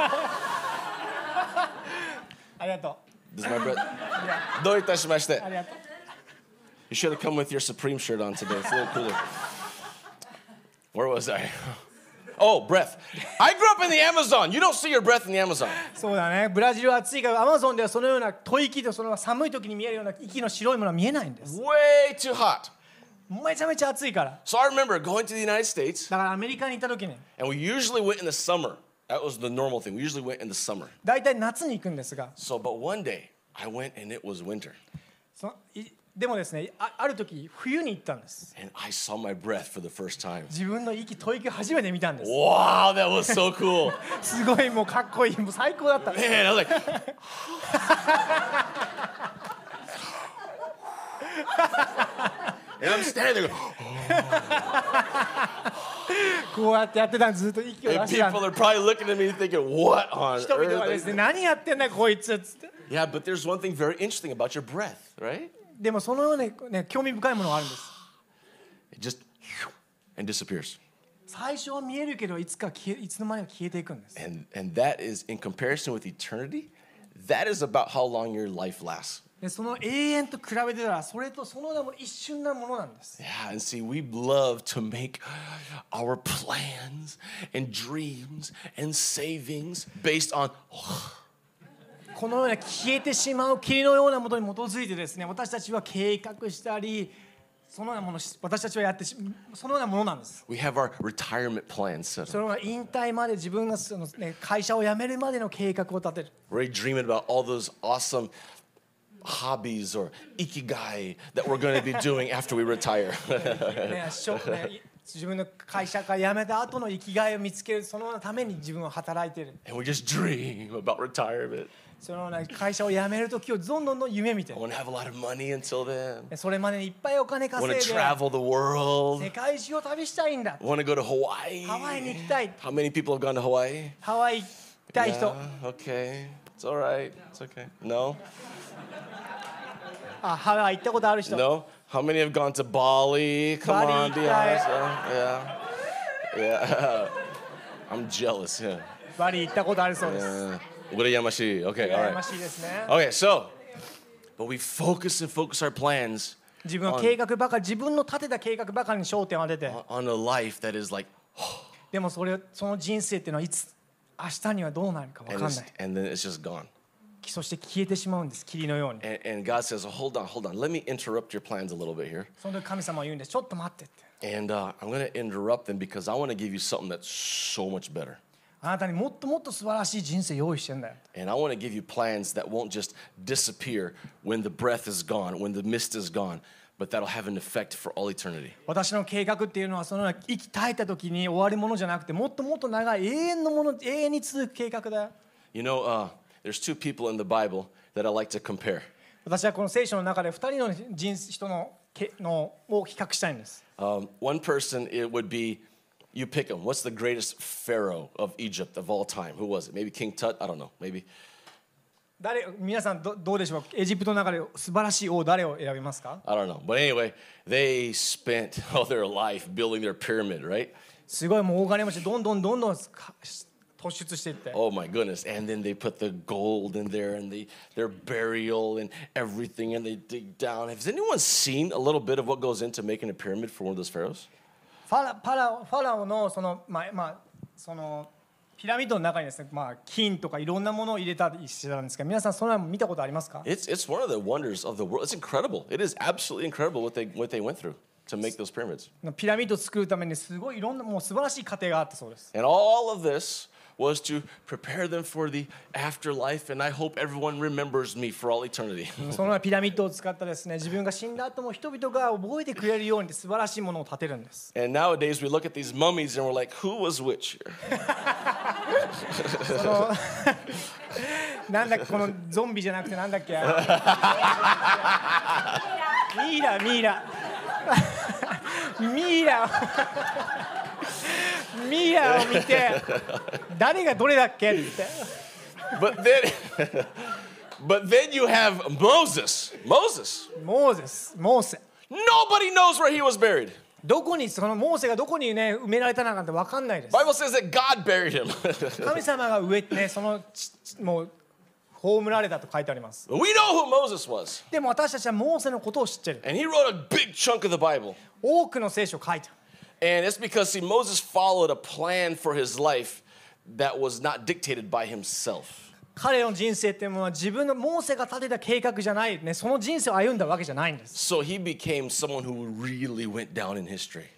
ありがと This is my breath. う。 どういたしましてありがとう。 You should have come with your Supreme shirt on today. It's a little cooler. Where was I? Oh, breath. I grew up in the Amazon. You don't see your breath in the Amazon. そうだね。ブラジルは暑いからアマゾンではそのような吐息とその寒い時に見えるような息の白いものは見えないんです。 Way too hot. めちゃめちゃ暑いから。 So I remember going to the United States, だからアメリカに行った時に and we usually went in the summer. That was the normal thing. We usually went in the summer. 大体夏に行くんですが、 So, but one day I went and it was winter. でもですね、ある時冬に行ったんです。 and I saw my breath for the first time. 自分の吐息初めて見たんです。 Wow, that was so cool. すごいもうかっこいい、もう最高だったんです。 Man, I was like, and I'm standing there going, こうやってやってたんです。ずっと息を出 and してたん people で are probably looking at me thinking, what on す。人々はです earth? ね、何やってんだこいつっつって。 Yeah, but there's one thing very interesting about your breath, right? でもそのような、ね、興味深いものがあるんです。 It just and disappears. 最初は見えるけどいつの間にか消えていくんです。 And that is in comparison with eternity, that is about how long your life lasts. でその永遠と比べてたらそれとその名も一瞬なものなんです。 Yeah, and see, we love to make our plans and dreams and savings based on このような消えてしまう霧のようなものに基づいてですね、私たちは計画したり、そのようなものを私たちはやってそのようなものなんです。 we have our retirement plans set そ up. のような引退まで自分がその、ね、会社を辞めるまでの計画を立てる。 We're dreaming about all those awesome hobbies or ikigai that we're going to be doing after we retire. ね、自分の会社から辞めた後の生きがいを見つける、そのために自分は働いている。 And we just dream about retirement. そのような会社を辞める時をどんどん夢見て I want to have a lot of money until then. それまでにいっぱいお金 I 稼 want い to で travel the world. 世界中を旅したいんだ。 I want to go to Hawaii. ハワイに行きたい。 How many people have gone to Hawaii? ハワイ行きたい人。 Yeah, okay. It's all right. It's okay. No? あ、ハワイ行ったことある人。 No? How many have gone to Bali? Come Bali, on, be honest. Yeah. Yeah. I'm jealous. Yeah. バリ行ったことあるそうです。 Urayamashi. Okay, all 羨ま right. しいですね。 Okay, so, but we focus our plans 自分の計画ばかり、自分の立てた計画ばかりに焦点を当てて、 on a life that is like, でもその人生っていうのはいつ明日にはどうなるか分かんない。 and then it's just gone. そして消えてしまうんです、霧のように。 And God says, hold on. Let me interrupt your plans a little bit here. その時神様は言うんです。ちょっと待ってって。 And I'm going to interrupt them because I want to give you something that's so much better. あなたにもっともっと素晴らしい人生用意してんだよ。 And I want to give you plans that won't just disappear when the breath is gone, when the mist is gone, but that'll have an effect for all eternity. 私の計画っていうのはそのような息絶えた時に終わるものじゃなくて、もっともっと長い永遠のもの、永遠に続く計画だよ。 You know, there's two people in the Bible that I like to compare. 私はこの聖書の中で2人の人のを比較したいんです。 One person, it would be, you pick him. What's the greatest pharaoh of Egypt of all time? Who was it? Maybe King Tut? I don't know. Maybe. 皆さんどうでしょうか。エジプトの中で素晴らしい王誰を選びますか。 I don't know. But anyway, they spent all their life building their pyramid, right? すごいもう大金持ちどんどん突出していって。 Oh my goodness. And then they put the gold in there and their burial and everything and they dig down. Has anyone seen a little bit of what goes into making a pyramid for one of those pharaohs? ファラオのそのそのピラミッドの中にですね、金とかいろんなものを入れたりしてたんですが、皆さんそれは見たことありますか？ It's one of the wonders of the world. It's incredible. It is absolutely incredible what they went through to make those pyramids. ピラミッドを作るためにすごいいろんなもう素晴らしい過程があったそうです。 And all of this was to prepare them for the afterlife, and I hope everyone remembers me for all eternity. そのようなピラミッドを使ったですね、自分が死んだ後も人々が覚えてくれるように素晴らしいものを建てるんです。 And nowadays we look at these mummies and we're like, who was which here? なんだっけこのゾンビじゃなくてなんだっけミイラを見て誰がどれだっけって言って。 But then you have Moses. モーセ。 Nobody knows where he was buried. どこにそのモーセがどこにね埋められたのかって分かんないです。 Bible says that God buried him. 神様が植えてねそのもう葬られたと書いてあります。 We know who Moses was. でも私たちはモーセのことを知ってる。 And he wrote a big chunk of the Bible. 多くの聖書を書いてる。 And it's because, see, Moses followed a plan for his life that was not dictated by himself. 彼の人生っていうのは自分のモーセが立てた計画じゃないね、その人生を歩んだわけじゃないんです。 So he became someone who really went down in history.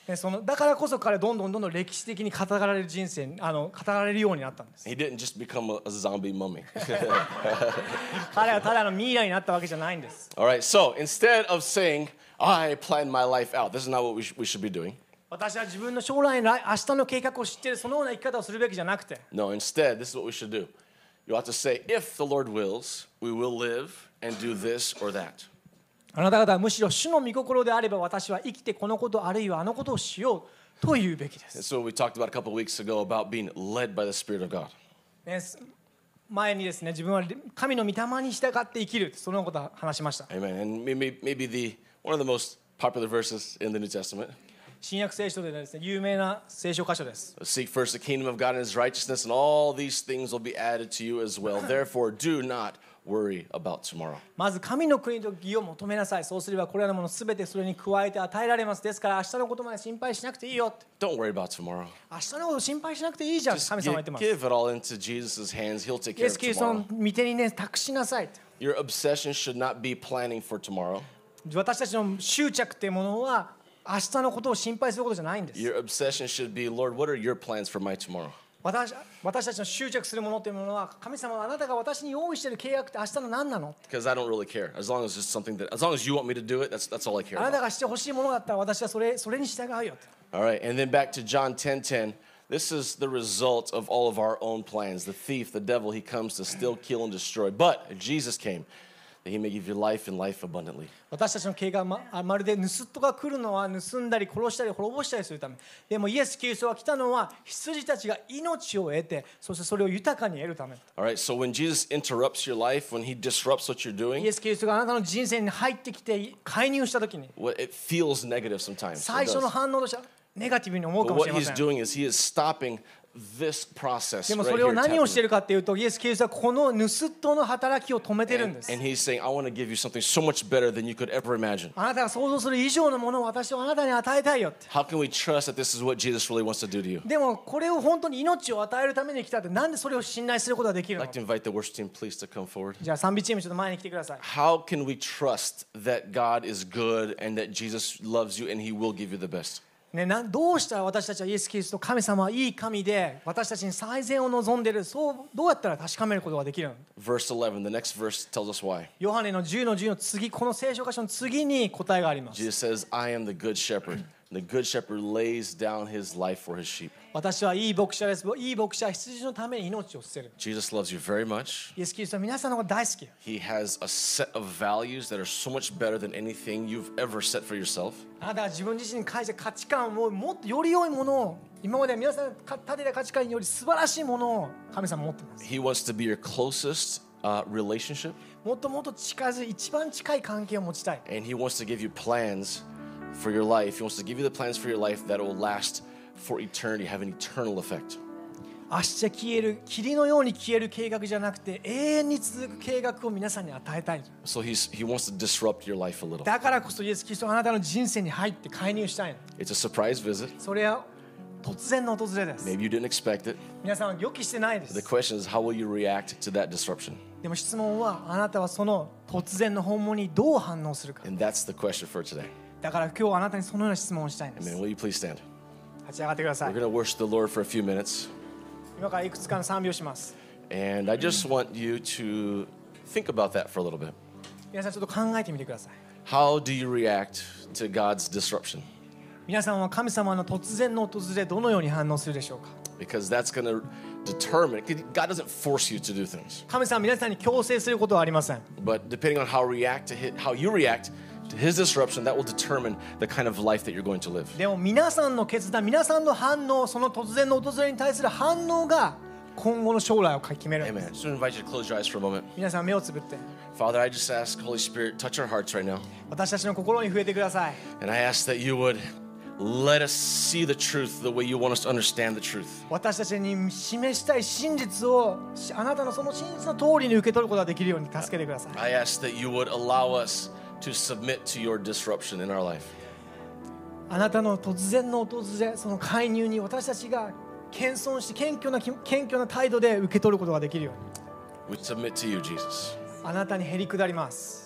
だからこそ彼はどんどん歴史的に語られる人生語られるようになったんです。 He didn't just become a zombie mummy. 彼はただのミイラになったわけじゃないんです。 All right, so instead of saying, I planned my life out, this is not what we should be doing. 私は自分の将来の明日の計画を知っている、そのような生き方をするべきじゃなくて、 No, instead, this is what we should do. You ought to say, if the Lord wills, we will live and do this or that. あなた方はむしろ主の御心であれば私は生きてこのことあるいはあのことをしようと言うべきです。 And so we talked about a couple of weeks ago about being led by the Spirit of God. 前にですね、自分は神の御霊に従って生きる、そのことを話しました。 Amen. And maybe one of the most popular verses in the New Testament. 新約聖書でですね、有名な聖書箇所です。 Seek first the kingdom of God and his righteousness, and all these things will be added to you as well. Therefore, do not worry about tomorrow. まず神の国と義を求めなさい。そうすればこれらのものすべてそれに加えて与えられます。ですから明日のことまで心配しなくていいよ。 Don't worry about tomorrow. 明日のこと心配しなくていいじゃん。 Just 神様は言ってます。 give it all into Jesus' hands. He'll take イ care エ of ス・キリストの tomorrow. 御手にね、託しなさい。 Your obsession should not be planning for tomorrow. 私たちの執着っていうものは明日のことを心配することじゃないんです。 Your obsession should be, Lord, what are your plans for my tomorrow? 私たちの執着するものというものは、神様はあなたが私に用意している契約って明日の何なの？ Because I don't really care. As long as it's something that, as long as you want me to do it, that's all I care あなた about. がしてほしいものだったら私はそれに従うよ。 All right, and then back to John 10:10. This is the result of all of our own plans. The thief, the devil, he comes to steal, kill, and destroy. But Jesus came that he may give you life and life abundantly. 私たちの計画はまるで盗人が来るのは盗んだり殺したり滅ぼしたりするため。でもイエス・キリストが来たのは羊たちが命を得て、そしてそれを豊かに得るため。 All right, so when Jesus interrupts your life, when he disrupts what you're イ doing, エス・キリストがあなたの人生に入ってきて介入したときに、 it feels negative sometimes. It 最初の does. 反応としてはネガティブに思う But かもし what れま he's せん。 doing is he is stopping this process でも right それを here. 何をしてい happening. るかというと、イエス・キリストはこの盗人の働きを止めてるんです。 And he's saying, I want to give you something so much better than you could ever imagine. あなたが想像する以上のものを私はあなたに与えたいよって。 How can we trust that this is what Jesus really wants to do to you? でもこれを本当に命を与えるために来たって、なんでそれを信頼することができる I'd の？ like to invite the worship team, please, to come forward. じゃあ賛美チームちょっと前に来てください。 How can we trust that God is good and that Jesus loves you and he will give you the best? ね、どうしたら私たちはイエス・キリスト、神様はいい神で私たちに最善を望んでいる、そうどうやったら確かめることができるの？ Verse 11, the next verse tells us why. ヨハネの10の10の次、この聖書箇所の次に答えがあります。 Jesus says, I am the good shepherd. The good shepherd lays down his life for his sheep. 私はいい牧者です。いい牧者は羊のために命を捨てる。 Jesus loves you very much. イエス・キリストは皆さんのこと大好き。 He has a set of values that are so much better than anything you've ever set for yourself. あなたが自分自身に返した価値観をもっとより良いものを、今まで皆さんが立てた価値観より素晴らしいものを神様持っています。 He wants to be your closest relationship, もっともっと近づい、一番近い関係を持ちたい。 and he wants to give you plans for your life. He wants to give you the plans for your life that will last for eternity, have an eternal effect. 明日消える、霧のように消える計画じゃなくて、永遠に続く計画を皆さんに与えたい。 So he wants to disrupt your life a little. だからこそイエス・キリストはあなたの人生に入って介入したいの。 It's a surprise visit. それは突然の訪れです。 Maybe you didn't expect it. 皆さんは予期してないで The す。 question is, how will you react to that disruption? でも質問は、あなたはその突然の訪問にどう反応するか。 And that's the question for today. だから今日はあなたにそのような質問をしたいんです。 Amen. Will you please stand? 立ち上がってくださ We're い。 going to worship the Lord for a few minutes. 今からいくつかの賛美をします。 And I just want you to think about that for a little bit. 皆さんちょっと考えてみてください。 How do you react to God's disruption? 皆さんは神様の突然の訪れ、どのように反応するでしょうか？ Because that's going to determine. God doesn't force you to do things. 神様は皆さんに強制することはありません。 But depending on how you react to his disruption, that will determine the kind of life that you're going to live. でも皆さんの決断、皆さんの反応、その突然の訪れに対する反応が今後の将来を決めるんです。 Amen. So I invite you to close your eyes for a moment. 皆さん目をつぶって、 Father, I just ask, Holy Spirit, touch our hearts right now. 私たちの心に触れてください。 And I ask that you would let us see the truth the way you want us to understand the truth. 私たちに示したい真実をあなたのその真実の通りに受け取ることができるように助けてください。 I ask that you would allow us to submit to your disruption in our life. あなたの突然の訪れ、その介入に私たちが謙遜して謙虚な態度で受け取ることができるように、 We submit to you, Jesus. あなたにへり下ります。